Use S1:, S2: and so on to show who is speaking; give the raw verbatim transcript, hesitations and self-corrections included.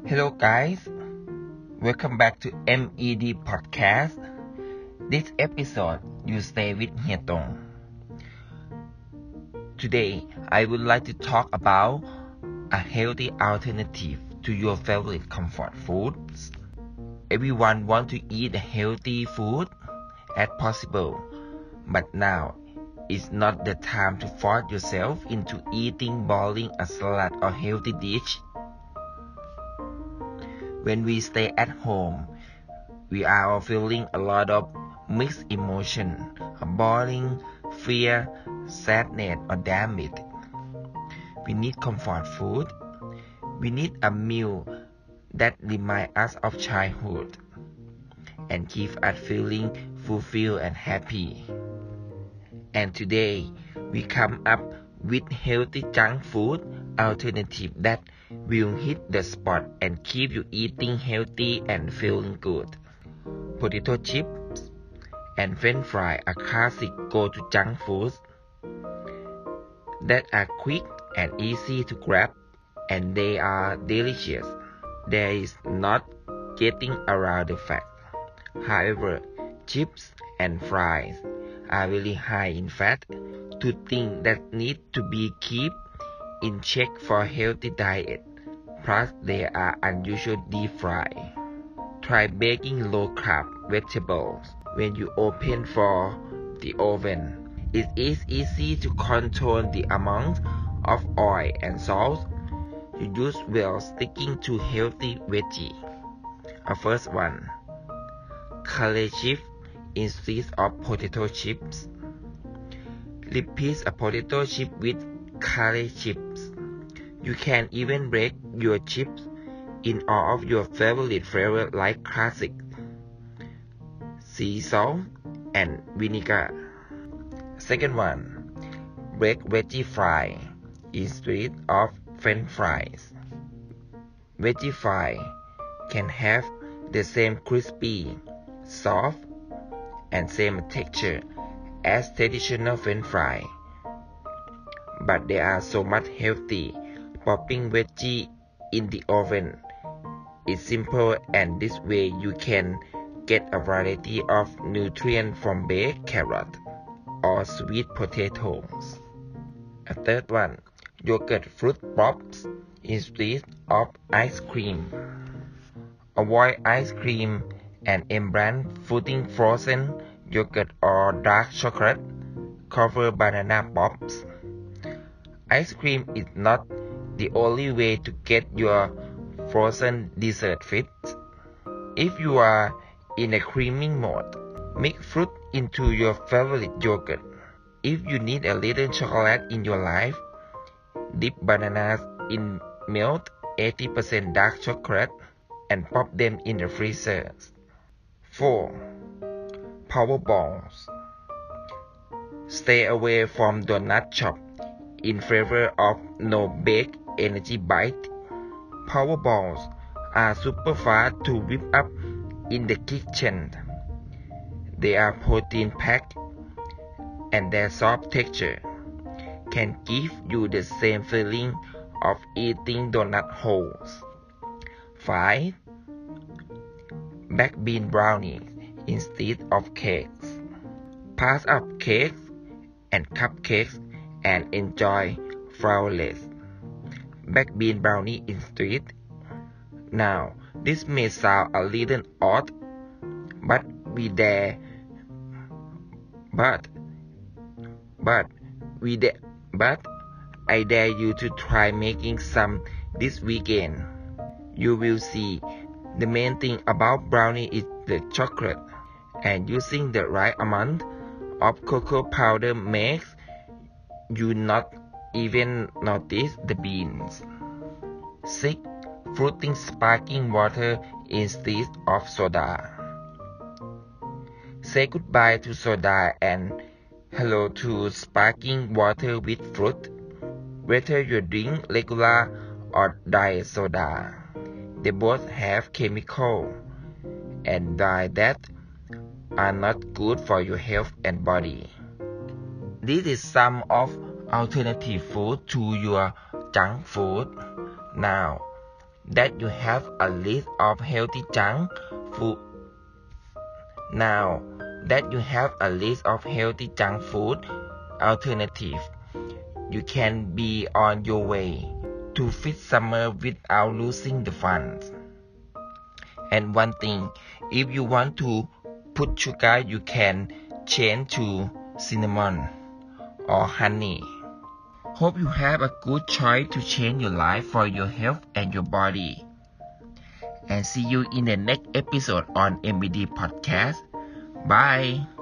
S1: Hello guys, welcome back to M E D Podcast. This episode you stay with Hie Tong. Today I would like to talk about a healthy alternative to your favorite comfort foods. Everyone wants to eat healthy food as possible, but now is not the time to force yourself into eating boring a salad or healthy dish. When we stay at home, we are all feeling a lot of mixed emotion, boring, fear, sadness, or damage. We need comfort food. We need a meal that reminds us of childhood and keep us feeling fulfilled and happy. And today, we come up with healthy junk food alternative that will hit the spot and keep you eating healthy and feeling good. Potato chips and French fries are classic go-to junk foods that are quick and easy to grab, and they are delicious. There is not getting around the fact. However, chips and fries are really high in fat, two things that need to be kept in check for a healthy diet. Plus, they are unusually deep fried. Try baking low-carb vegetables when you open for the oven. It is easy to control the amount of oil and salt you use while sticking to healthy veggie. A first one, curry chips instead of potato chips. Replace a potato chip with curry chips. You can even break your chips in all of your favorite flavors like classic, sea salt, and vinegar. Second one, break veggie fry instead of French fries. Veggie fry can have the same crispy, soft, and same texture as traditional French fry, but they are so much healthy. Popping veggie in the oven is simple, and this way you can get a variety of nutrients from baked carrot or sweet potatoes. A third one, yogurt fruit pops instead of ice cream. Avoid ice cream and embrace fruiting frozen yogurt or dark chocolate covered banana pops. Ice cream is not the only way to get your frozen dessert fit. If you are in a creaming mode, mix fruit into your favorite yogurt. If you need a little chocolate in your life, dip bananas in milk eighty percent dark chocolate and pop them in the freezer. four. Power balls. Stay away from donut shop in favor of no-bake energy bite. Power balls are super fast to whip up in the kitchen. They are protein-packed, and their soft texture can give you the same feeling of eating donut holes. five. Baked bean brownies instead of cakes. Pass up cakes and cupcakes and enjoy flourless baked bean brownie instead. Now, this may sound a little odd, but we dare, but, but, we dare, but I dare you to try making some this weekend. You will see the main thing about brownie is the chocolate, and using the right amount of cocoa powder makes you not even notice the beans. six. Fruiting sparkling water instead of soda. Say goodbye to soda and hello to sparkling water with fruit. Whether you drink regular or diet soda, they both have chemicals and dyes that are not good for your health and body. This is some of alternative food to your junk food. Now, that you have a list of healthy junk food. Now that you have a list of healthy junk food alternatives, you can be on your way to fit summer without losing the fun. And one thing, if you want to put sugar, you can change to cinnamon or honey. Hope you have a good choice to change your life for your health and your body. And see you in the next episode on M B D Podcast. Bye.